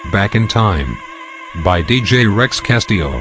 Back in Time by DJ Rex Castillo.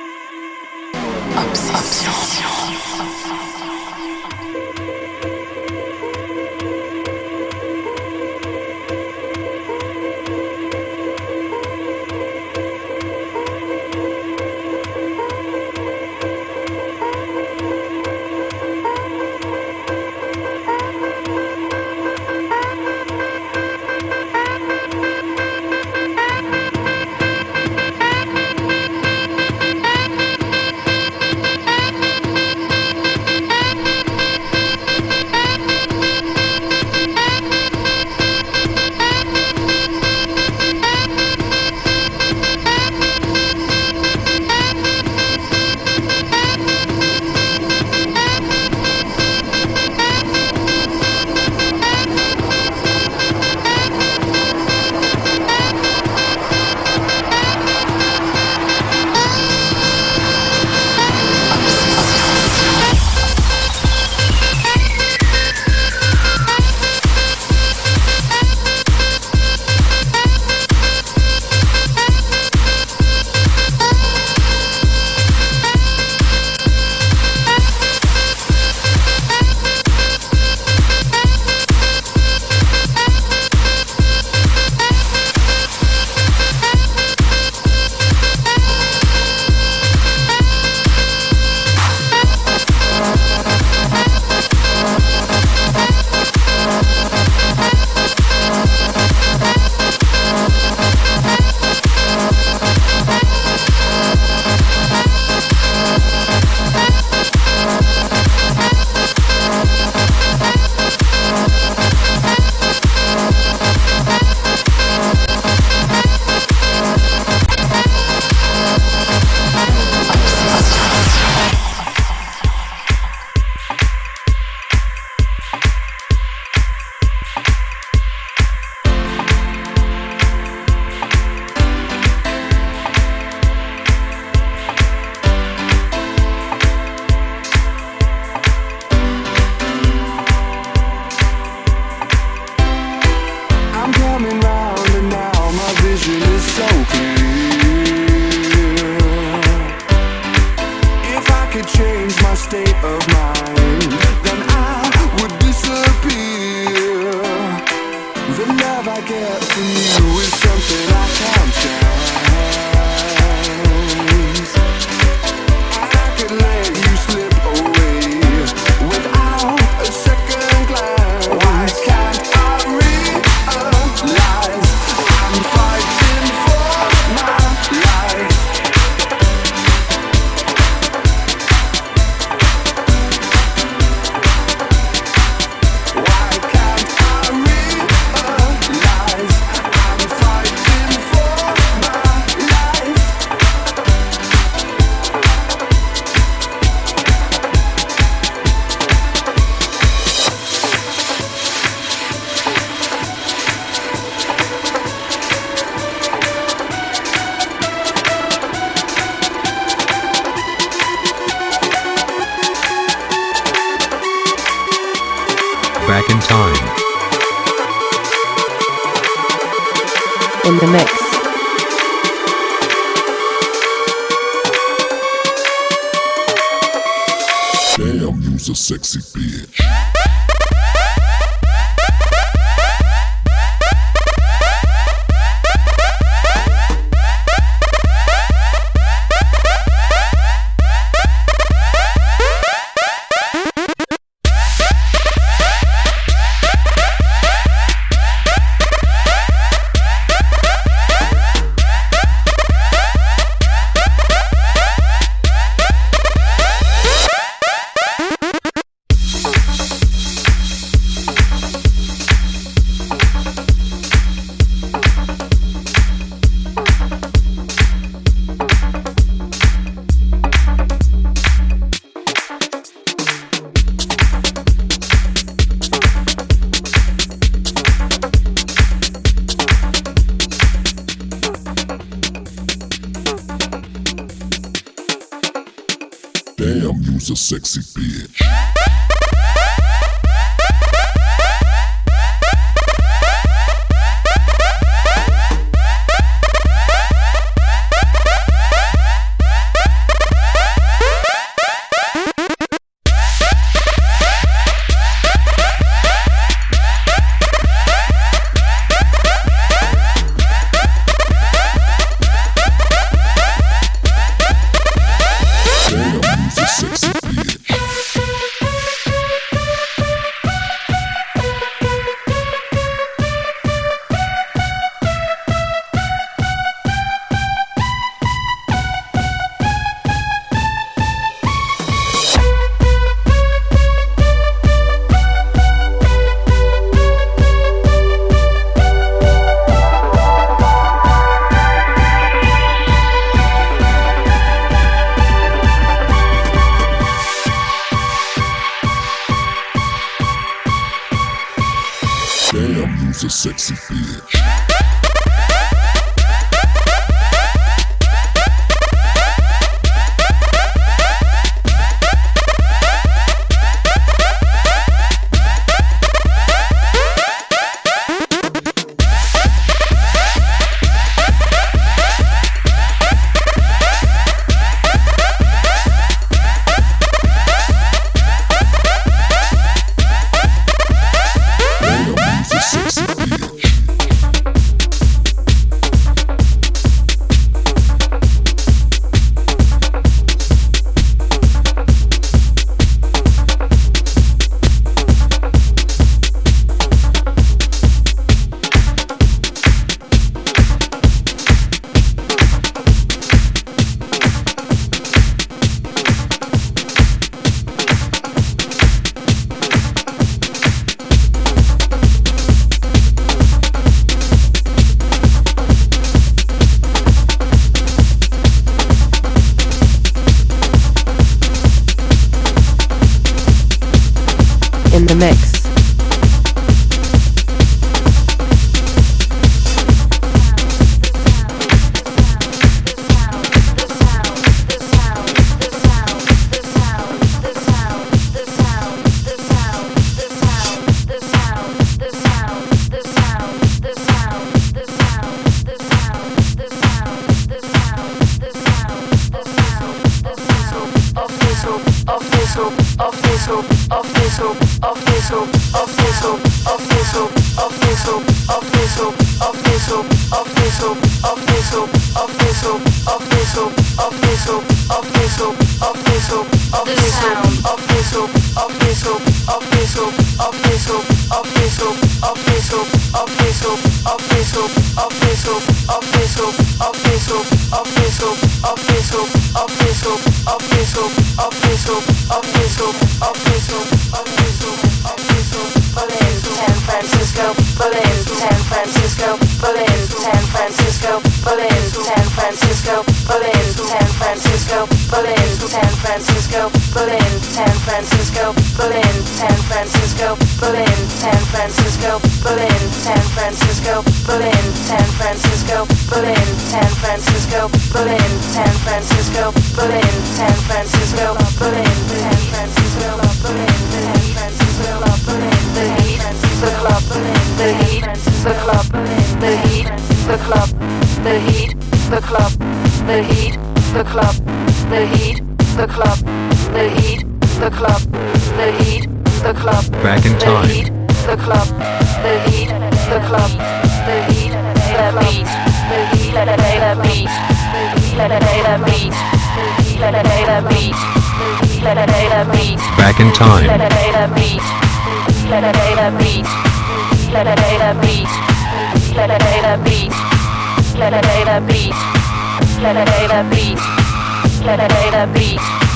Back in Time. In the mix. Damn, you's a sexy bitch. Damn, you's a sexy bitch. Damn, you's a sexy bitch. In the mix. Back in time. The club, the heat, the club, the heat, the beat, the heat, the beat, the heat, the beat, the heat, the beat, the heat, the beat. Back in time. The beat, the beat, the beat, the beat, the beat, the beat, the beat,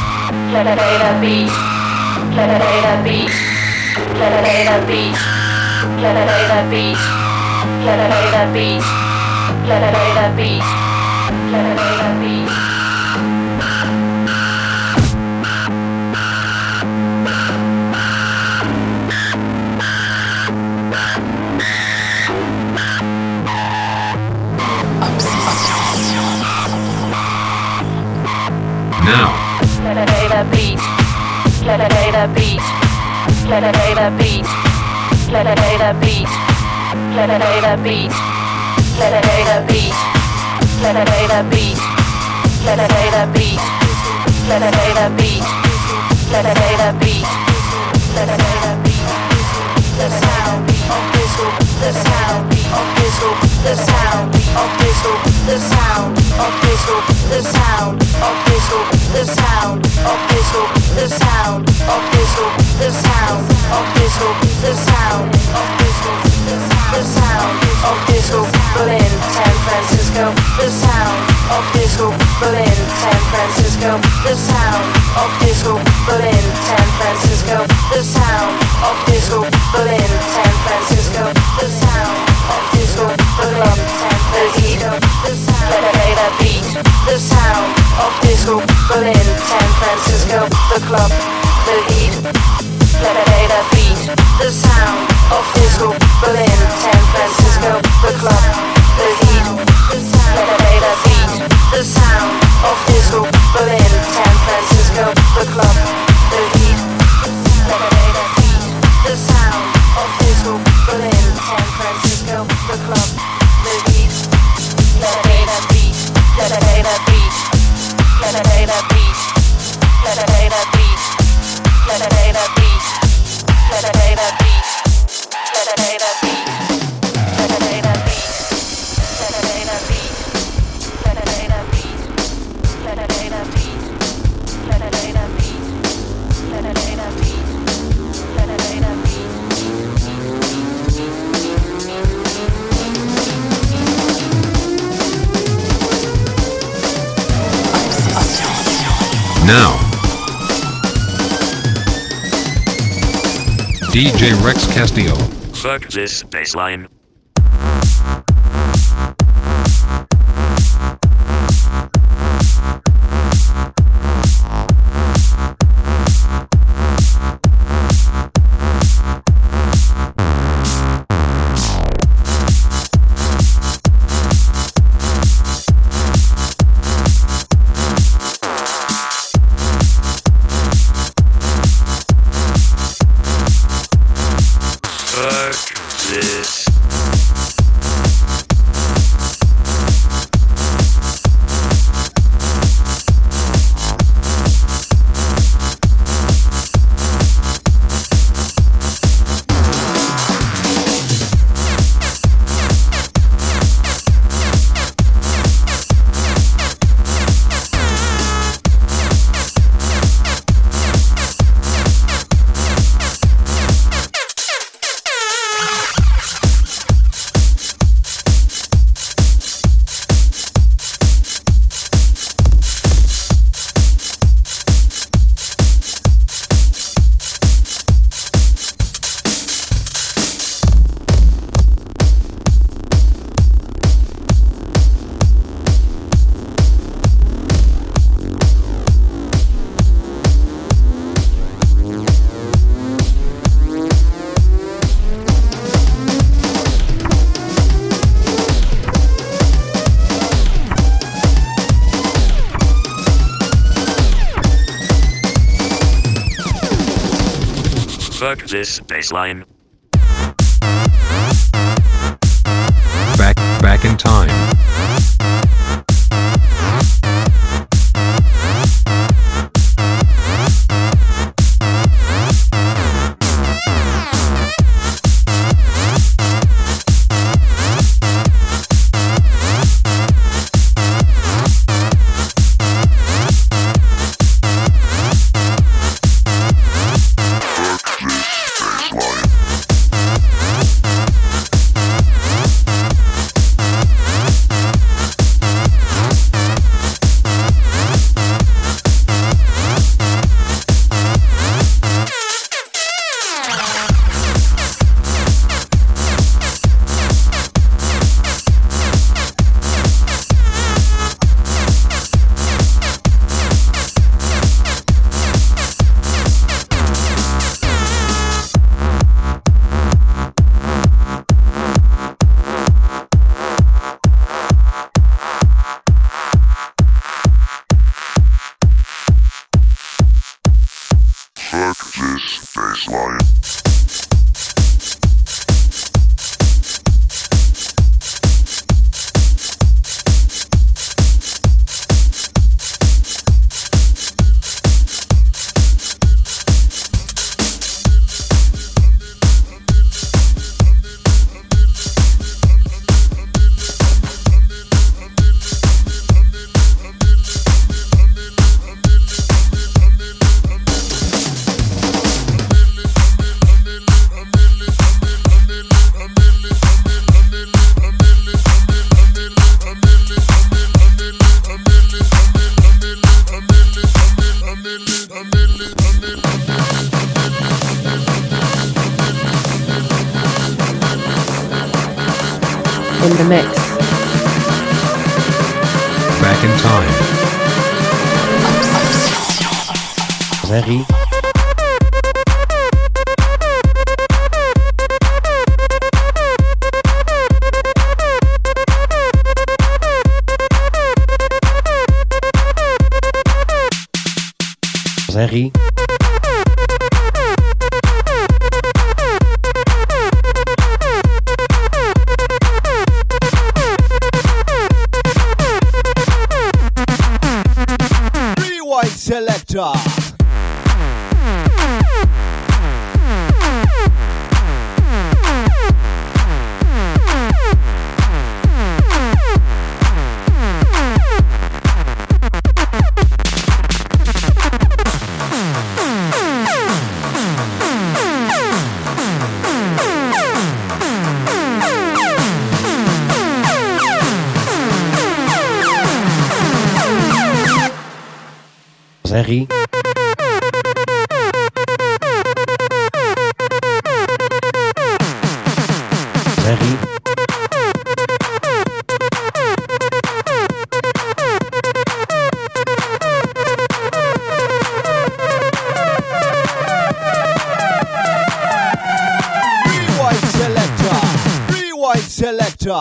the beat, the beat. Let it beat, let it beat, let it beat, let it beat, let it beat. Now. Let it beat, let it beat. Let it beat, let it beat, let it beat, let it beat, let it beat, let it beat, let it beat, let it beat, let it beat. The sound of whistle, the sound of whistle, the sound of whistle, the sound of whistle, the sound of whistle, the sound of whistle, the sound of whistle, the sound of whistle, the sound of whistle, the sound of whistle, Berlin, San Francisco, the sound of whistle, Berlin, San Francisco, the sound of whistle, Berlin, San Francisco, the sound of whistle, Berlin, San Francisco, the sound of whistle, the club, San Francisco, the sound, let it beat, the sound of whistle, Berlin, San Francisco, the club, the heat, let it beat, the sound of whistle, Berlin. Now. DJ Rex Castillo. Fuck this bassline. This. Fuck this bassline. Back in time. Fuck this bassline. In the mix. Back in time. Very. Very. Selector. Very. Very. Rewind selector. Rewind selector.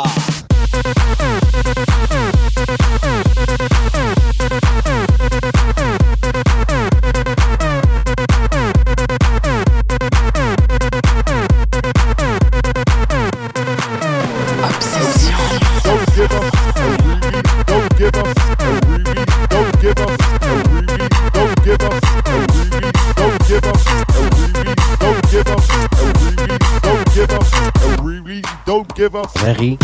Don't give up, don't give up, don't give up, don't give up, don't give up, don't give up, don't give up, don't give up. Very.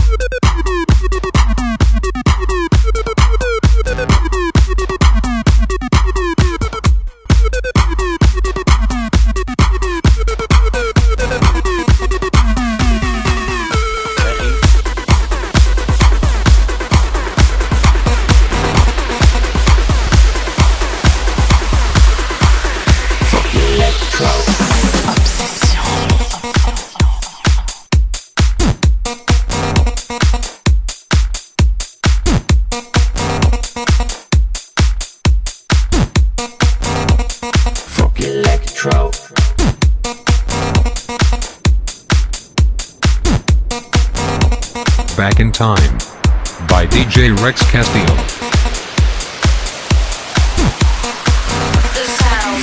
Back in Time by DJ Rex Castillo. The sound.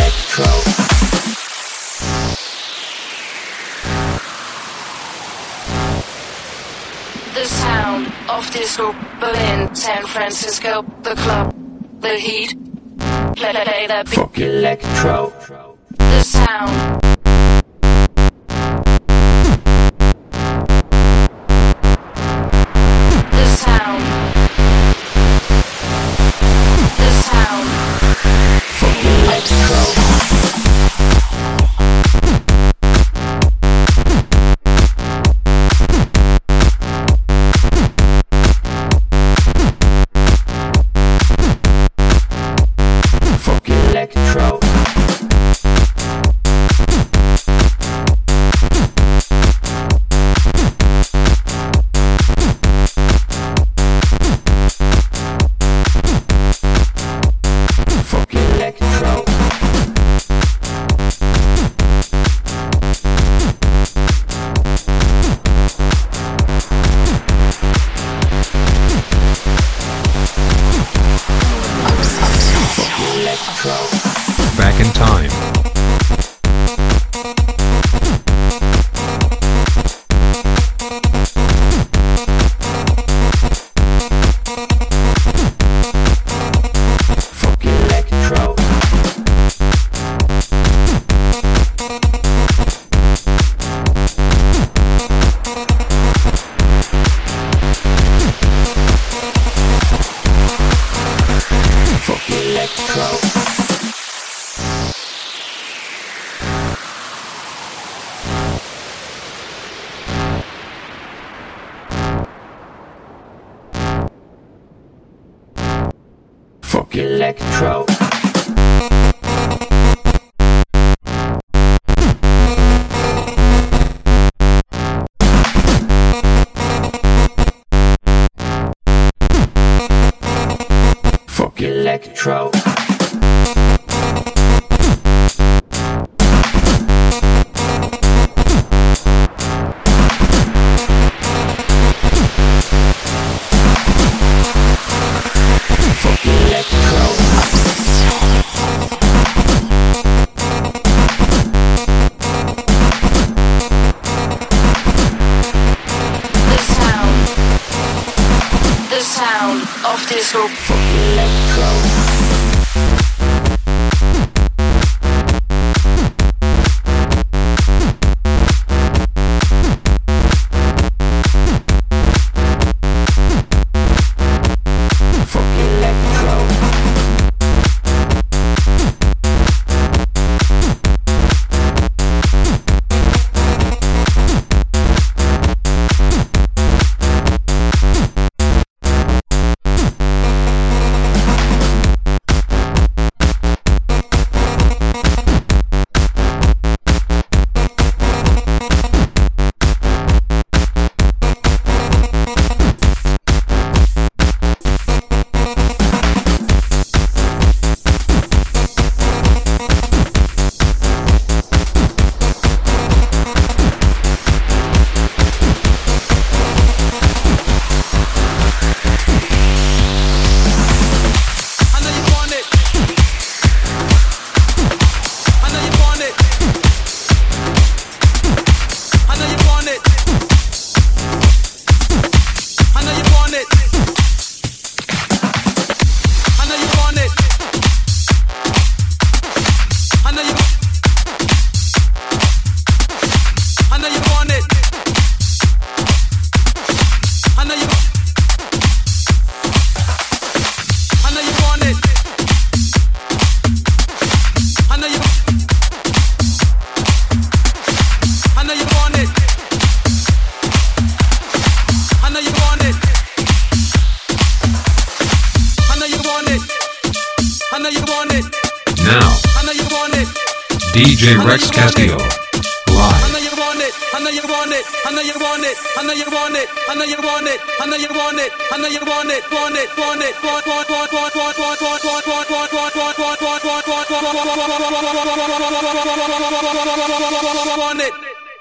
The sound of disco, Berlin, San Francisco, the club, the heat. Play the beat. Electro. The sound. The sound. The sound. Electro. Back in Time. Electro. Electro. The sound of disco. DJ Rex Castillo. Live. I know you want it, I know you want it, I know you want it, I know you want it, I know you want it, I know you want it, I know you want it, want it, want it, want it.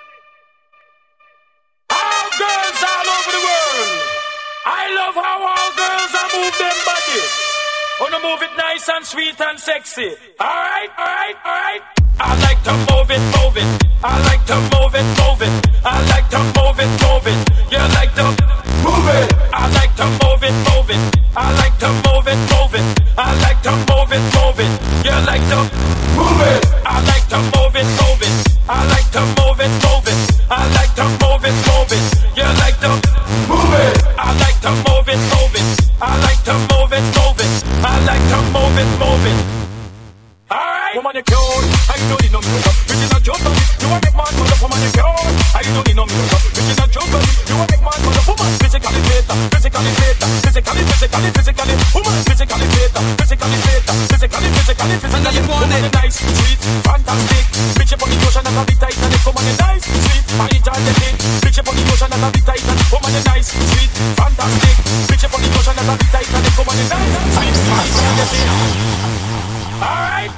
All girls all over the world. I love how all girls are move them body. Wanna move it nice and sweet and sexy. Alright, alright, alright. I like to move it, move it. I like to move it, move it. I like to move it, move it. You like to move it. I like to move it, move it. I like to move it, move it. I like to move it, move it. You like to move it. I like to move it, move it. I like to move it, move it. I like to move it, move it. You like to move it. I like to move it, move it. I like to move it, move it. I like to move it, move it. Alright, woman you cute, I don't need no makeup. Bitch is a joke on it, you a make man mother. Woman you cute, I don't need no makeup. Bitch is a joke on it, you a make man mother. Woman physically fit, physically fit, physically, physically, physically. Woman physically fit, physically fit, physically, physically, physically. I know you want it, nice, sweet, fantastic. Bitch up on the ocean and a bit tight and it. Woman you nice, sweet, I enjoy the thing. Bitch up on the ocean and a bit tight and woman you nice, sweet, fantastic. Bitch up on the ocean and a bit tight and it. Woman you nice, sweet, I enjoy the thing. Alright.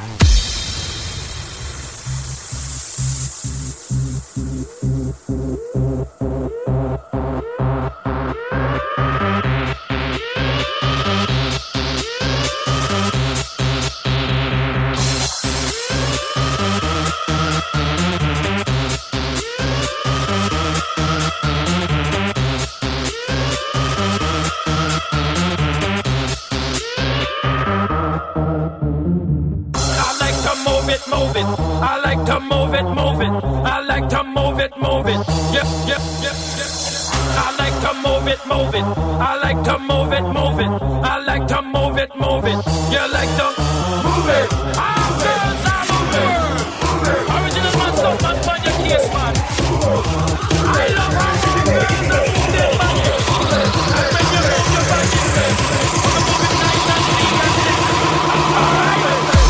Move it. I like to move it, move it. I like to move it, move it. Yep, yep, yep, yep. I like to move it, move it. I like to move it, move it. I like to move it, move it. You like to move it. All girls all over. Original man, stuff man, find your case, man. I love how all girls are moving their body. I make you move your body. Wanna move it nice and sweet and sexy. Alright.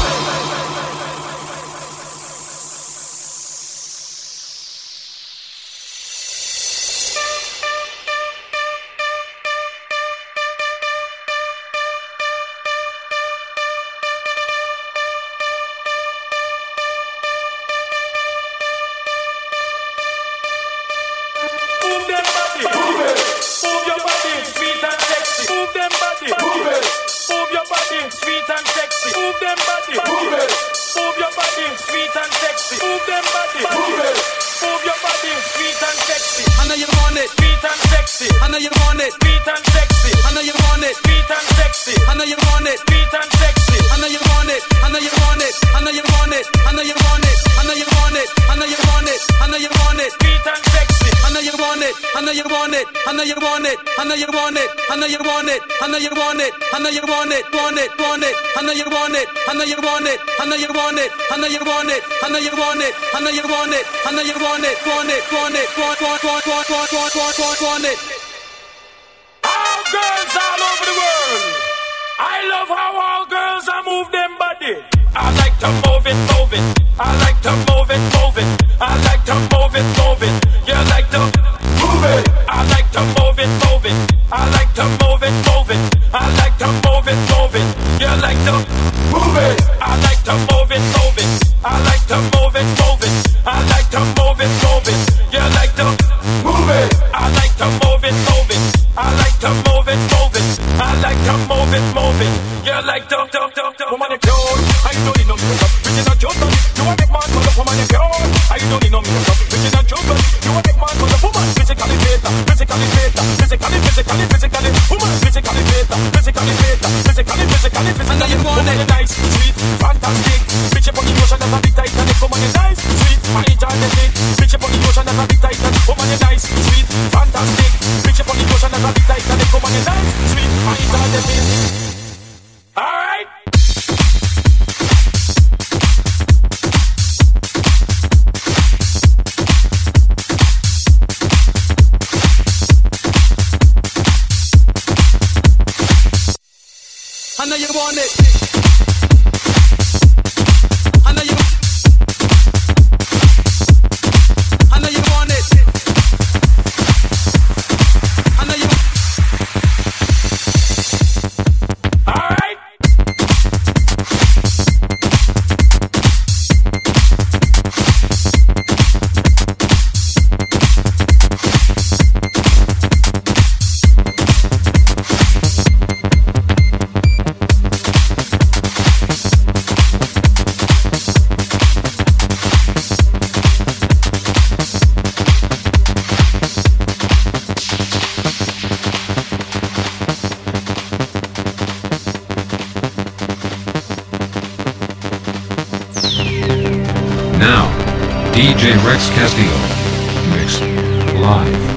All girls all over the world. I love how all girls are move them body. I like to move it, move it. I like to move it, move it. I like to move it, move it. You like to move it. I like to move it, move it. I like to move it, move it. I like to move it, move it. You like to move it. I like to move it, move it. I like to move it, move it. I like to move it, move it. You like to move it. I like to move it, move it. I like to move it, move it. I like to move it, move it. You like to woman you cute. I don't need no makeup. Bitch is a joke. You a make man for the woman you cute. I don't need no makeup. Bitch is a joke. You a make man for the woman. Physically fit, physically fit, physically, physically, physically. Woman physically fit, physically fit, physically, physically, physically. I know you want it. Nice, sweet, fantastic. Bitch up on the ocean and a bit tight and it. Woman you nice, sweet, I enjoy the thing. Bitch up on the ocean and a bit tight and woman you nice, sweet, fantastic. Bitch up on the ocean and a bit tight and it. Woman you nice, sweet, I enjoy the thing. Alright. I know you want it. I know you. DJ Rex Castillo. Mix. Live.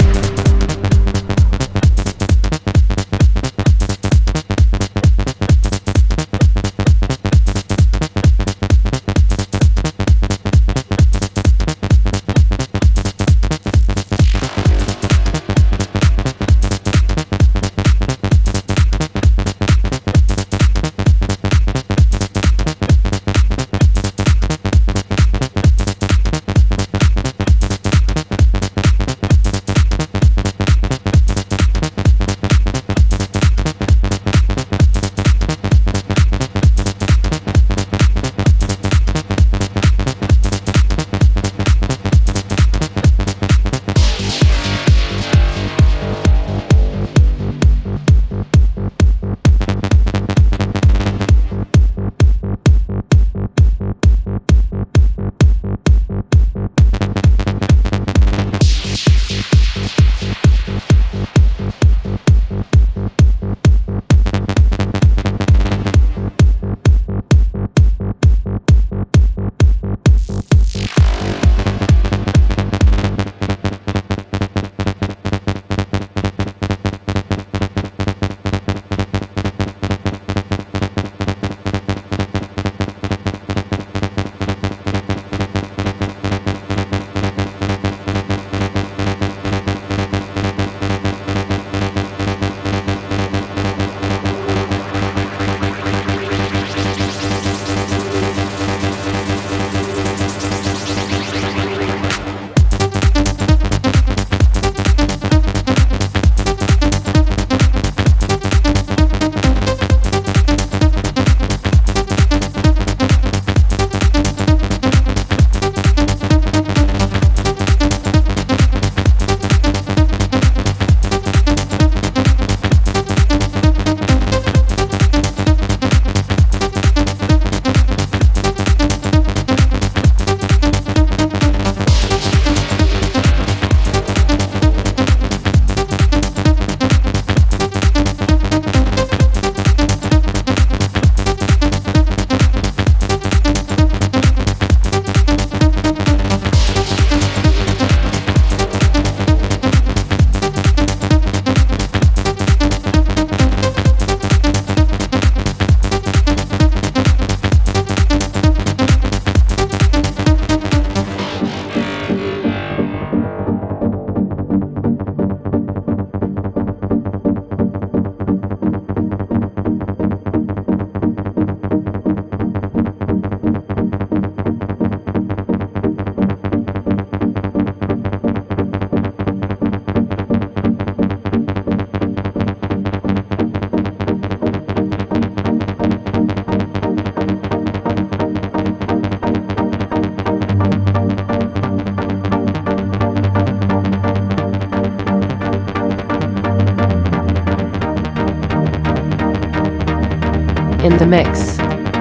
In the mix.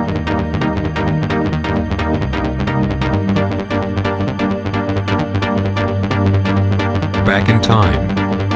Back in time.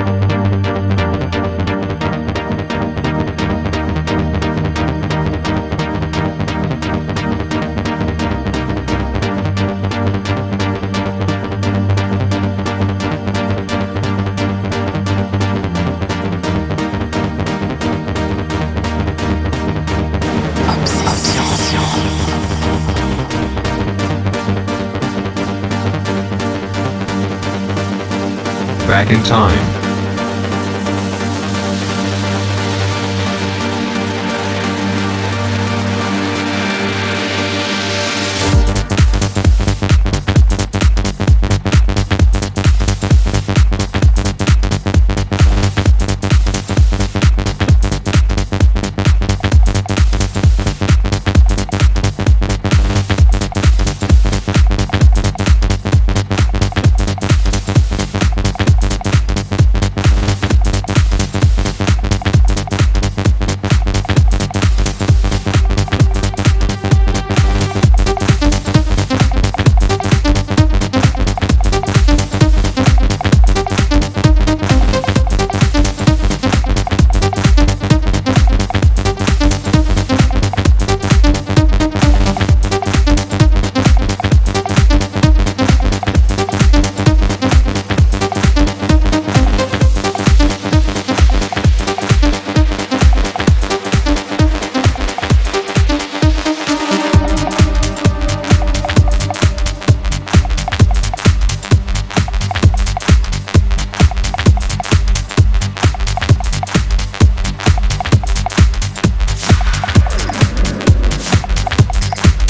Back in time.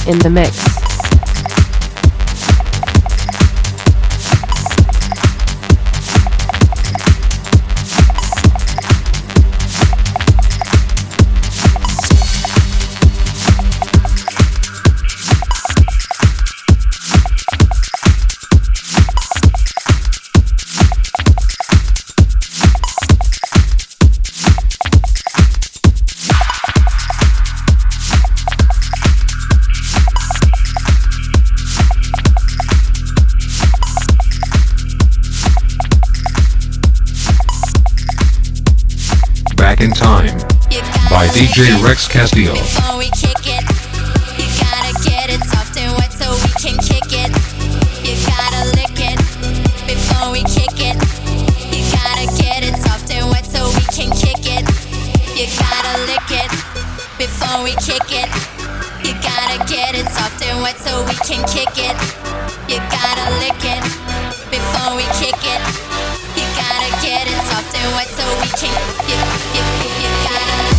In the mix. Back in Time by DJ Rex Castillo. Before we kick it, you gotta get it soft and wet so we can kick it. You gotta lick it before we kick it. You gotta get it soft and wet so we can kick it. You gotta lick it before we kick it. You gotta get it soft and wet so we can kick it. You gotta lick it before we kick it. You gotta get it soft and wet so we can. You gotta.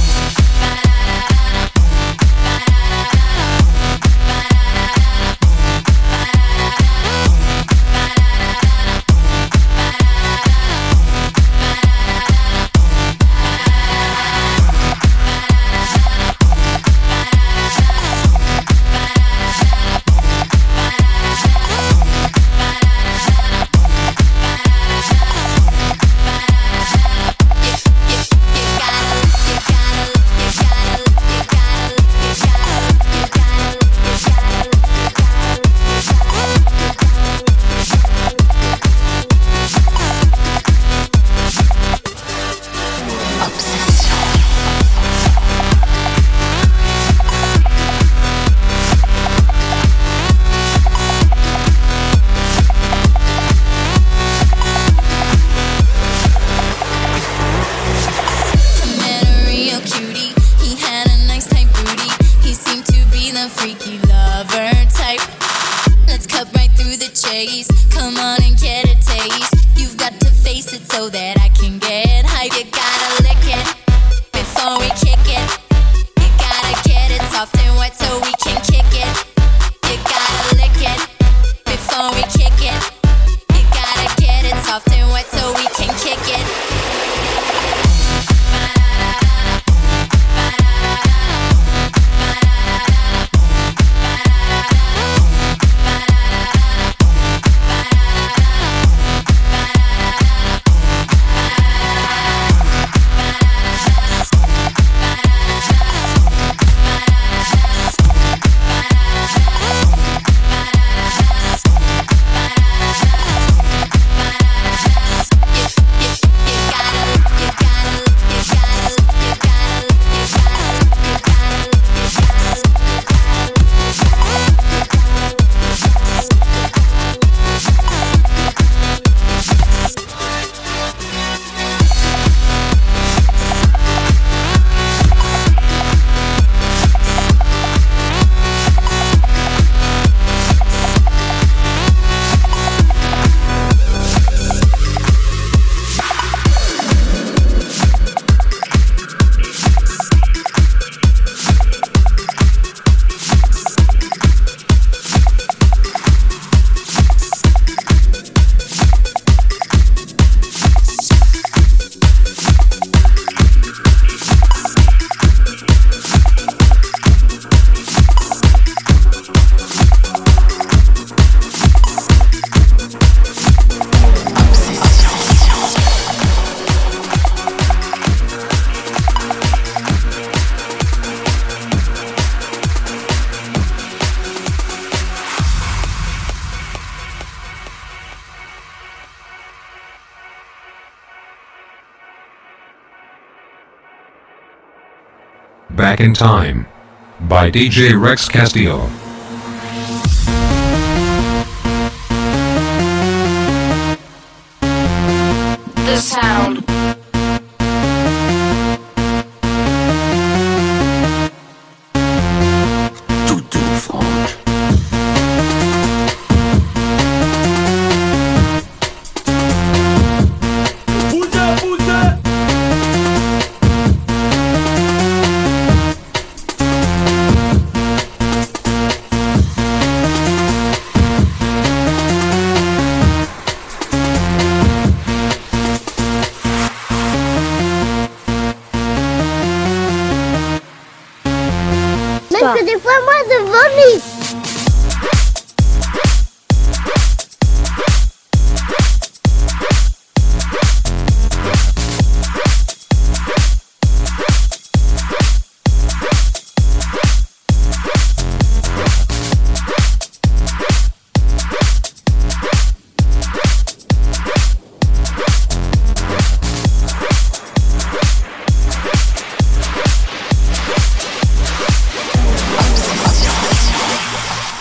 Back in Time by DJ Rex Castillo. The sound.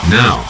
now.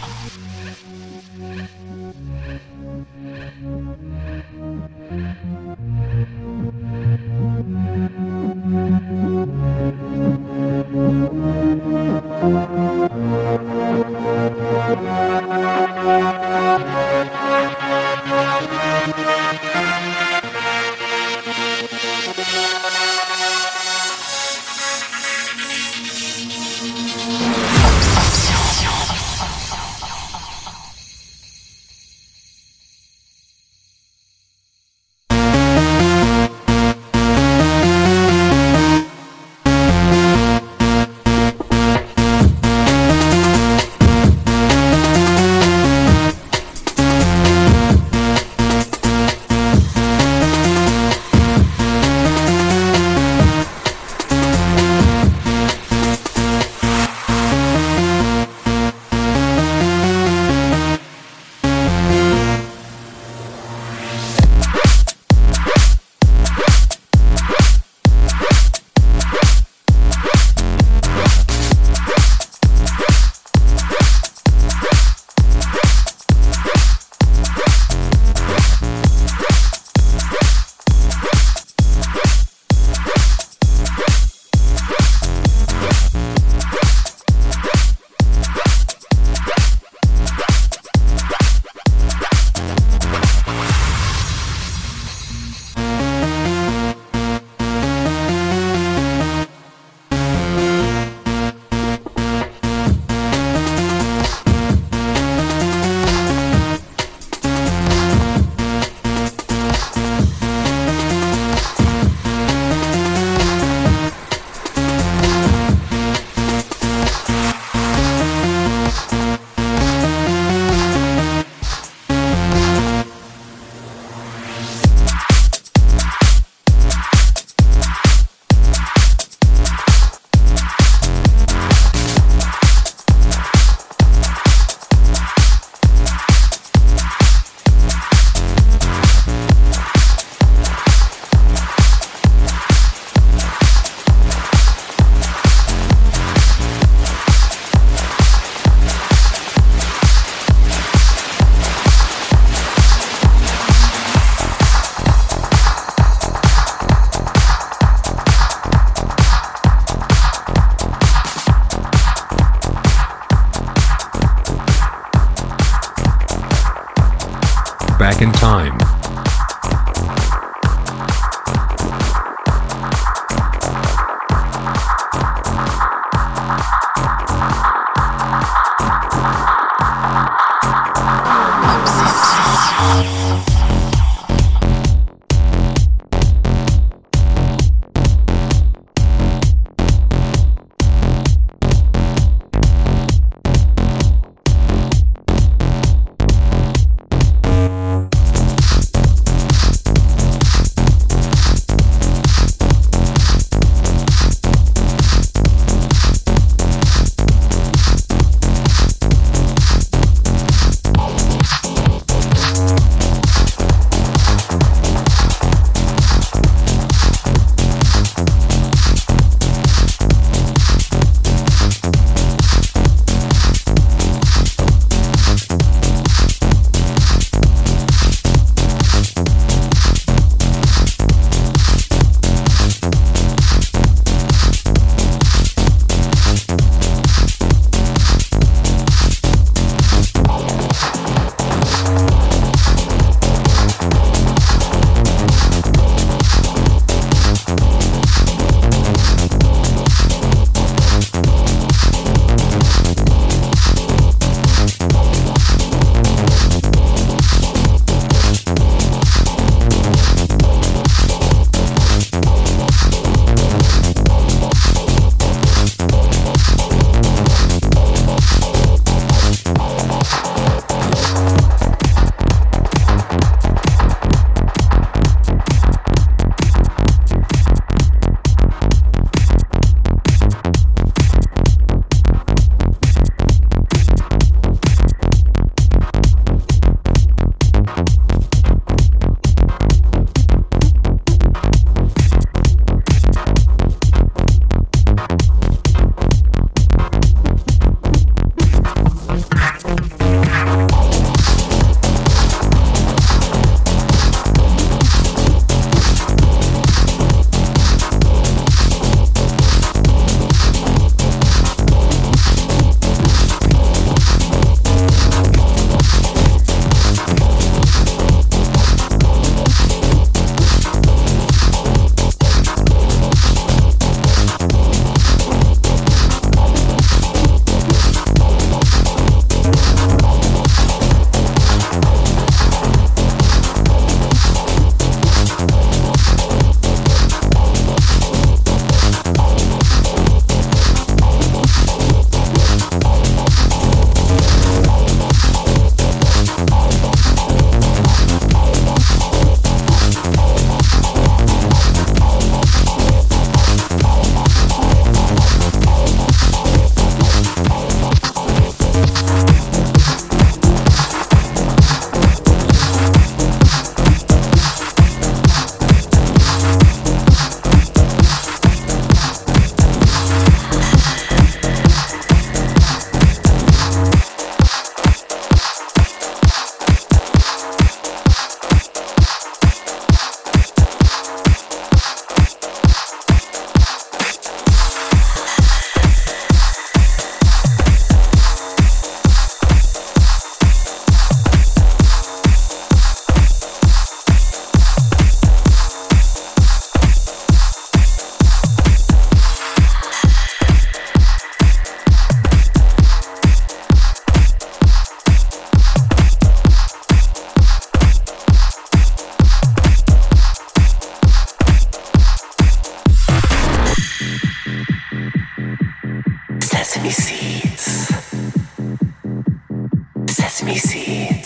Back in time.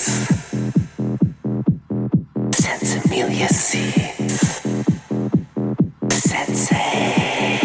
Sensimilia seeds. Sensei.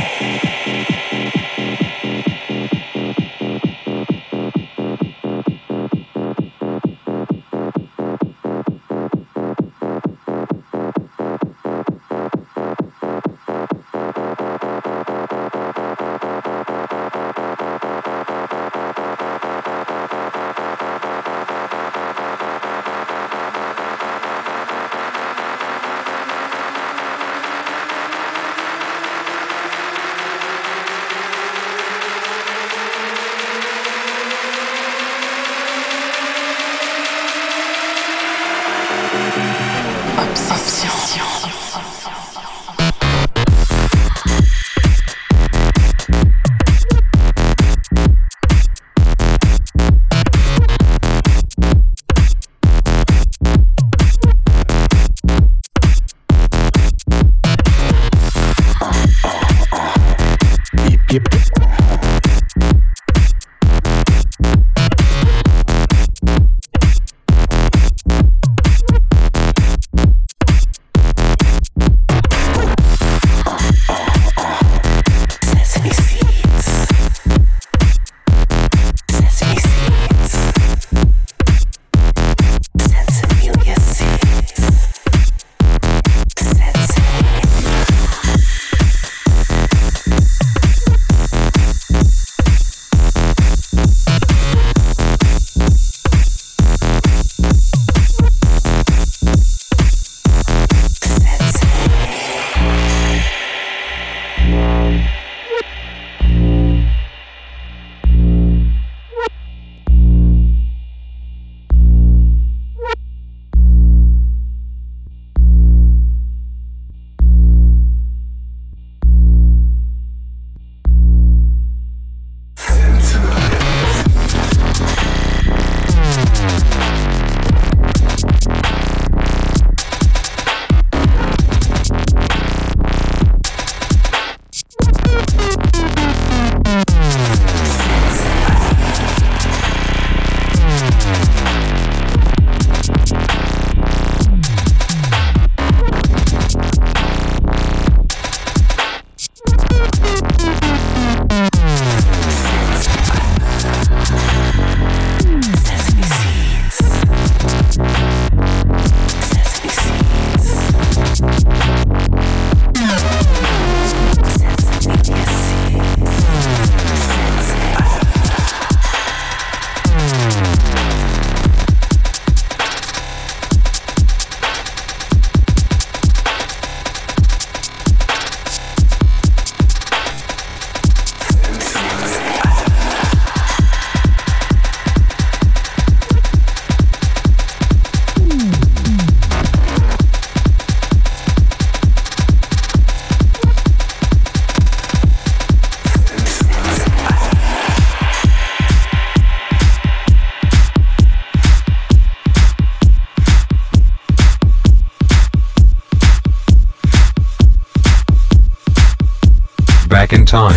Back in time.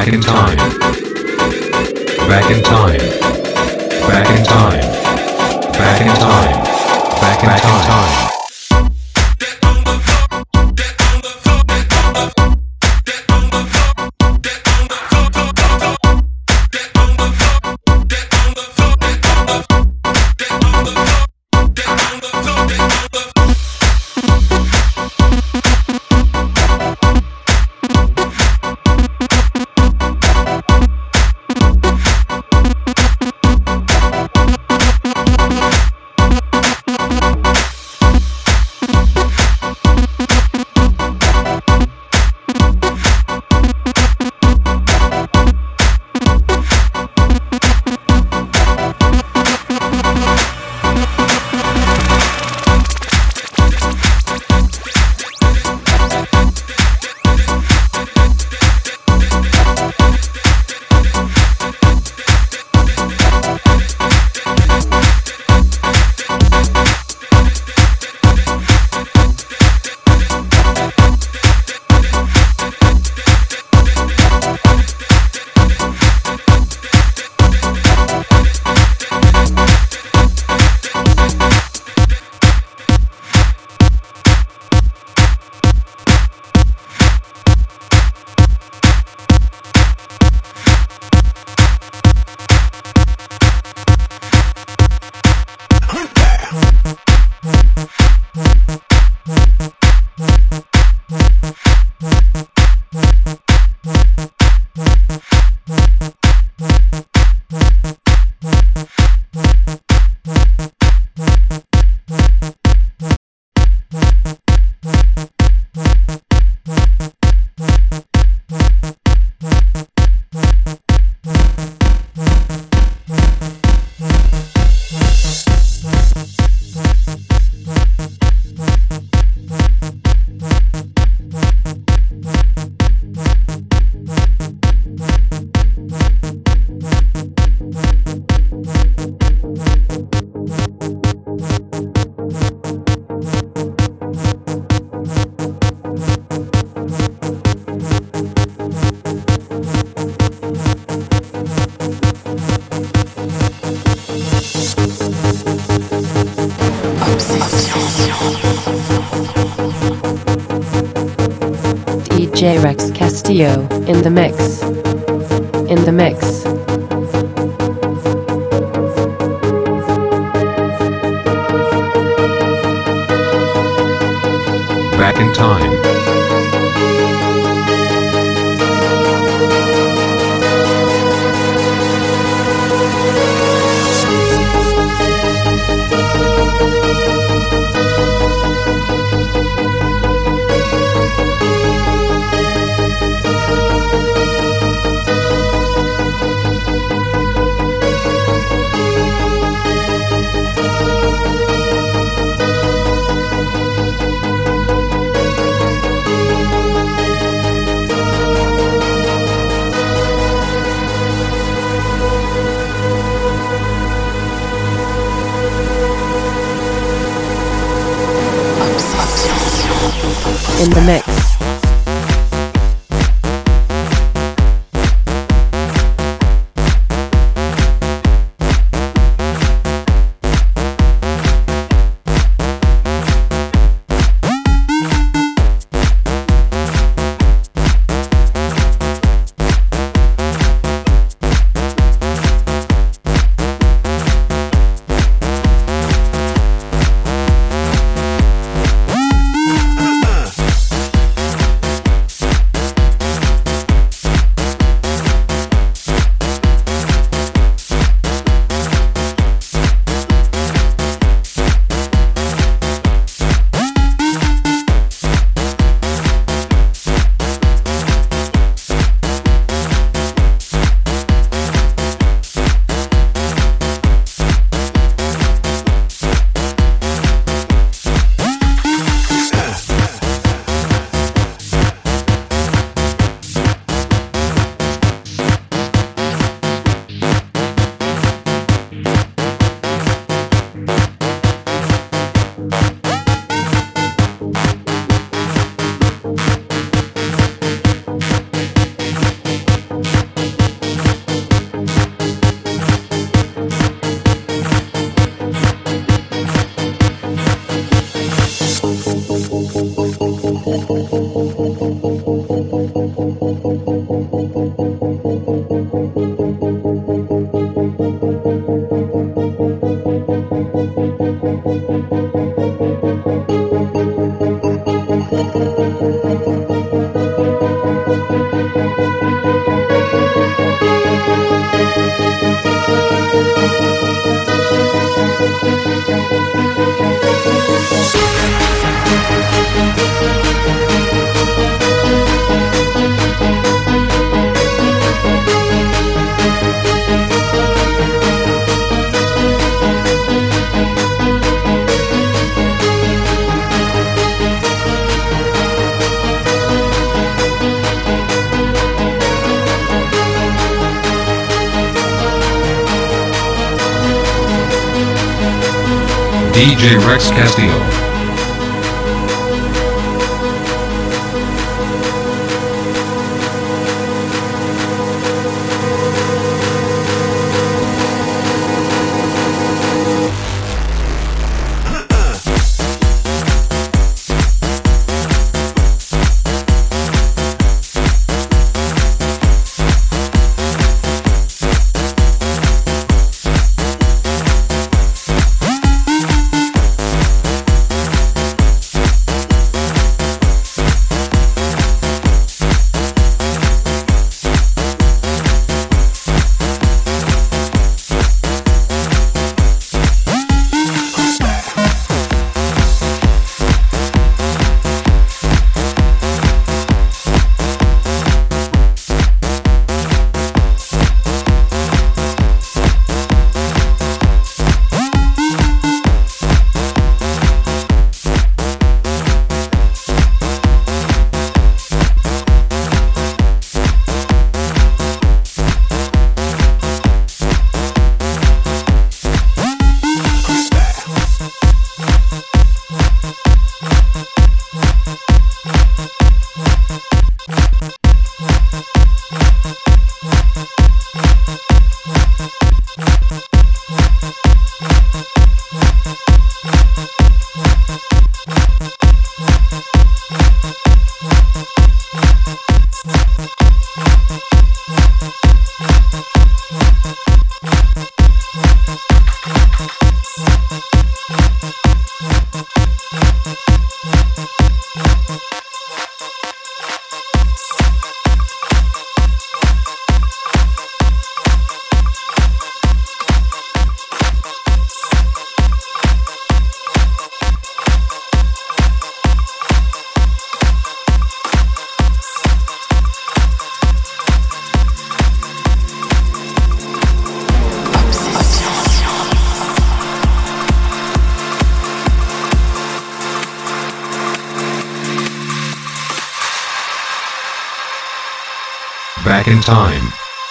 Back in time. Back in time. Back in time. Back in time. Back in time. DJ Rex Castillo in the mix. In the mix. Back in time. In the mix. DJ Rex Castillo. Back in time.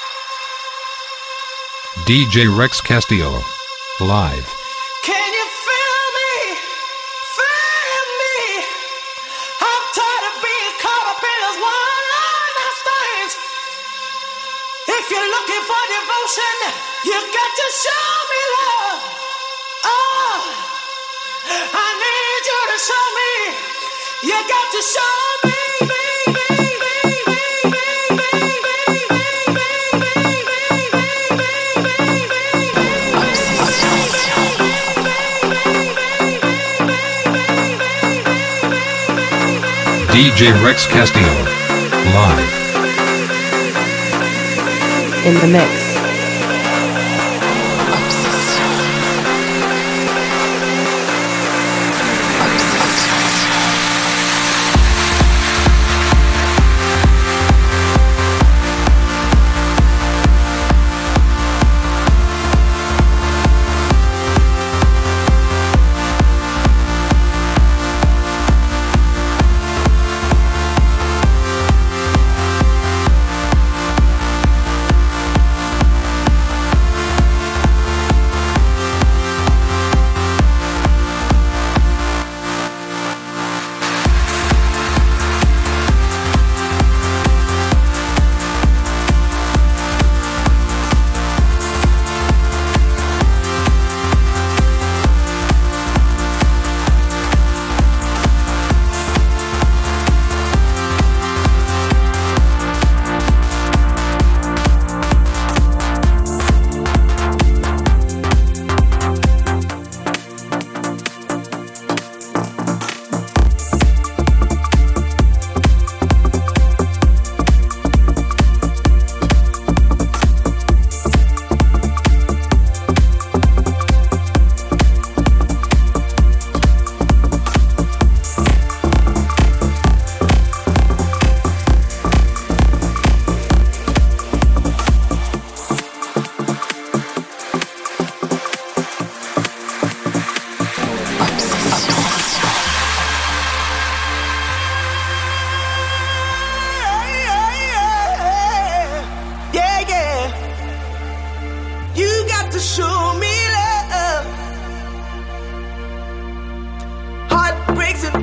DJ Rex Castillo. Live. Can you feel me? Feel me? I'm tired of being caught up in this one-night stands. If you're looking for devotion, you got to show me love. Oh, I need you to show me. You got to show me. DJ Rex Castillo. Live. In the mix.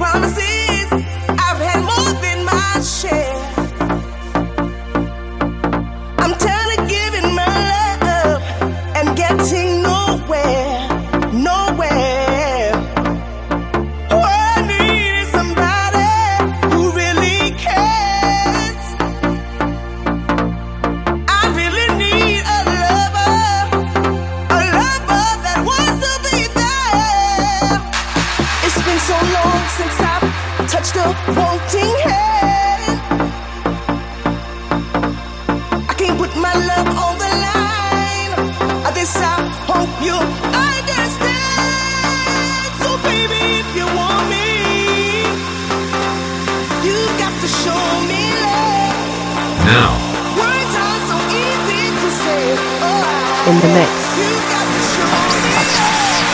promises, I've had more than my share. I'm tired of giving my love and getting nowhere, nowhere. All I need is somebody who really cares. I really need a lover that wants to be there. It's been so long since I've touched a wanting hand. I can't put my love on the line. This I hope you understand. So baby, if you want me, you got to show me love. Now, Words are so easy to say. Oh, In the mix. you got to show me love.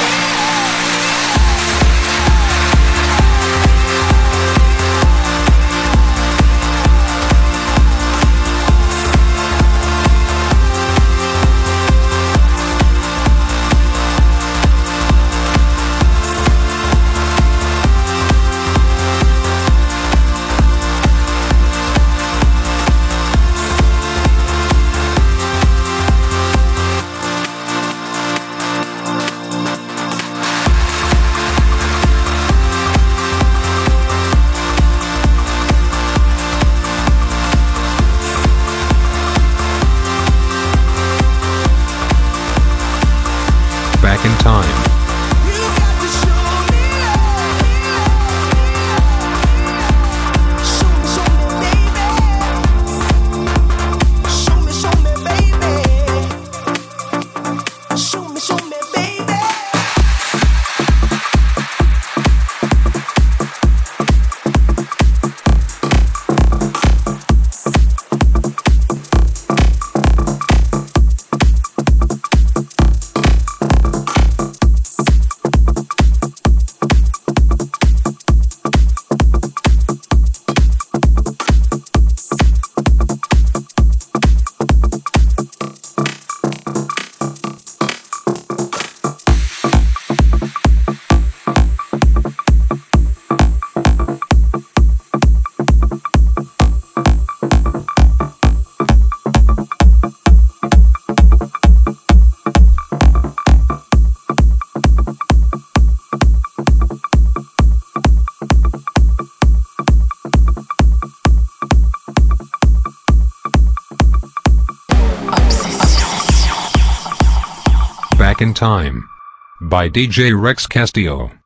back in time. Back in Time by DJ Rex Castillo.